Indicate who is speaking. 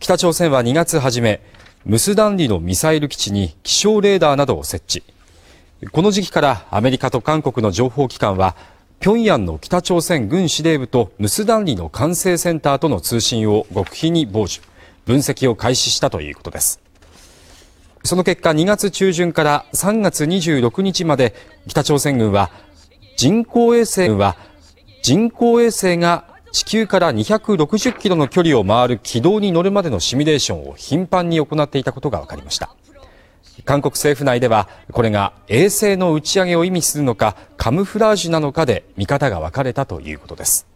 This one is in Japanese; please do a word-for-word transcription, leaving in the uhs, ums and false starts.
Speaker 1: 北朝鮮はにがつ初め、ムスダンリのミサイル基地に気象レーダーなどを設置。この時期からアメリカと韓国の情報機関は、平壌の北朝鮮軍司令部とムスダンリの管制センターとの通信を極秘に傍受、分析を開始したということです。その結果、にがつ中旬からさんがつにじゅうろくにちまで北朝鮮軍は人工衛星は人工衛星が地球からにひゃくろくじゅっキロの距離を回る軌道に乗るまでのシミュレーションを頻繁に行っていたことが分かりました。韓国政府内ではこれが衛星の打ち上げを意味するのかカムフラージュなのかで見方が分かれたということです。